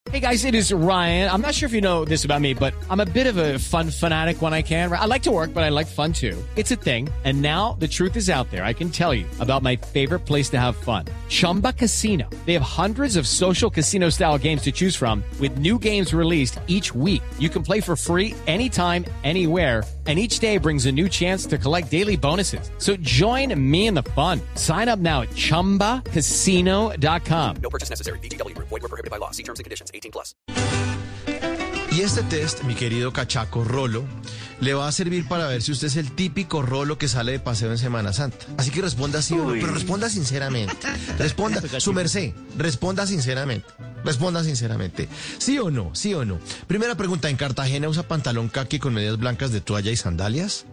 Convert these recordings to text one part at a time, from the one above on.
Hey guys, it is Ryan. I'm not sure if you know this about me, but I'm a bit of a fun fanatic when I can. I like to work, but I like fun too. It's a thing. And now the truth is out there. I can tell you about my favorite place to have fun. Chumba Casino. They have hundreds of social casino style games to choose from with new games released each week. You can play for free anytime, anywhere. And each day brings a new chance to collect daily bonuses. So join me in the fun. Sign up now at ChumbaCasino.com. No purchase necessary. VGW Group. Void where prohibited by law. See terms and conditions. 18+. Y este test, mi querido cachaco Rolo, le va a servir para ver si usted es el típico Rolo que sale de paseo en Semana Santa. Así que responda sí o no, pero responda sinceramente. Responda, su merced, responda sinceramente. Responda sinceramente. ¿Sí o no? ¿Sí o no? Primera pregunta, ¿en Cartagena usa pantalón caqui con medias blancas de toalla y sandalias?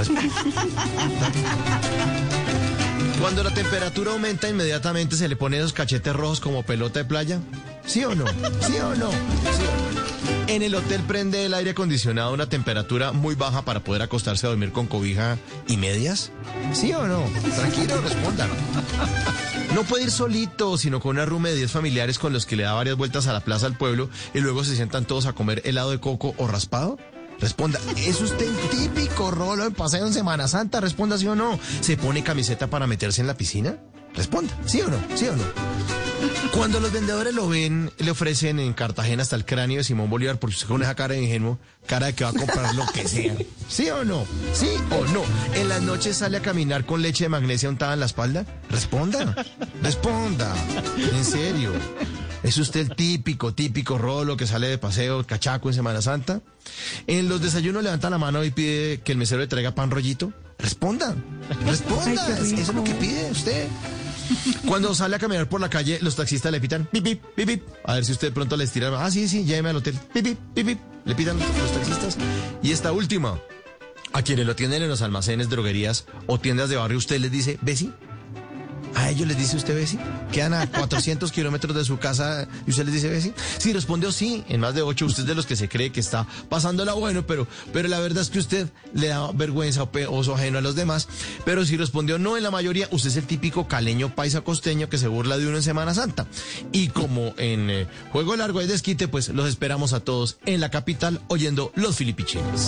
Cuando la temperatura aumenta, inmediatamente se le pone esos cachetes rojos como pelota de playa. ¿Sí o no? ¿Sí o no? ¿Sí o no? En el hotel prende el aire acondicionado a una temperatura muy baja para poder acostarse a dormir con cobija y medias. ¿Sí o no? Tranquilo, respondan. No puede ir solito, sino con una room de 10 familiares con los que le da varias vueltas a la plaza del pueblo y luego se sientan todos a comer helado de coco o raspado. Responda, ¿es usted el típico Rolo de paseo en Semana Santa? Responda sí o no. ¿Se pone camiseta para meterse en la piscina? Responda, ¿sí o no? ¿Sí o no? Cuando los vendedores lo ven, le ofrecen en Cartagena hasta el cráneo de Simón Bolívar, porque usted con esa cara de ingenuo, cara de que va a comprar lo que sea. ¿Sí o no? ¿Sí o no? ¿En las noches sale a caminar con leche de magnesia untada en la espalda? Responda, responda, en serio. ¿Es usted el típico Rolo que sale de paseo, cachaco en Semana Santa? ¿En los desayunos levanta la mano y pide que el mesero le traiga pan rollito? Responda, responda, eso es lo que pide usted. Cuando sale a caminar por la calle, los taxistas le pitan pip, pip, pip, pip. A ver si usted pronto les tira. Ah, sí, lléveme al hotel. Pip, pip, pip, pip. Le pitan los taxistas. Y esta última, a quienes lo tienen en los almacenes, droguerías o tiendas de barrio, usted les dice, ¿Besi? ¿A ellos les dice usted Besi? ¿Quedan a 400 kilómetros de su casa y usted les dice Besi? Si respondió sí, en más de 8, usted es de los que se cree que está pasándola bueno, pero la verdad es que usted le da vergüenza o oso ajeno a los demás. Pero si respondió no en la mayoría, usted es el típico caleño paisa costeño que se burla de uno en Semana Santa. Y como en Juego Largo hay desquite, pues los esperamos a todos en la capital oyendo Los Filipichines.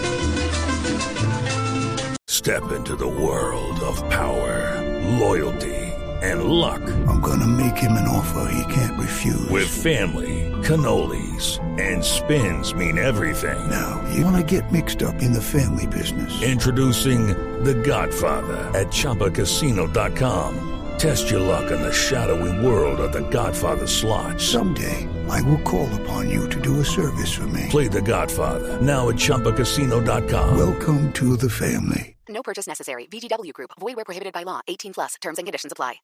Step into the world of power, loyalty, and luck. I'm gonna make him an offer he can't refuse. With family, cannolis, and spins mean everything. Now, you wanna get mixed up in the family business. Introducing The Godfather at ChumbaCasino.com. Test your luck in the shadowy world of The Godfather slot. Someday, I will call upon you to do a service for me. Play The Godfather, now at ChumbaCasino.com. Welcome to the family. No purchase necessary. VGW Group. Void where prohibited by law. 18+. Terms and conditions apply.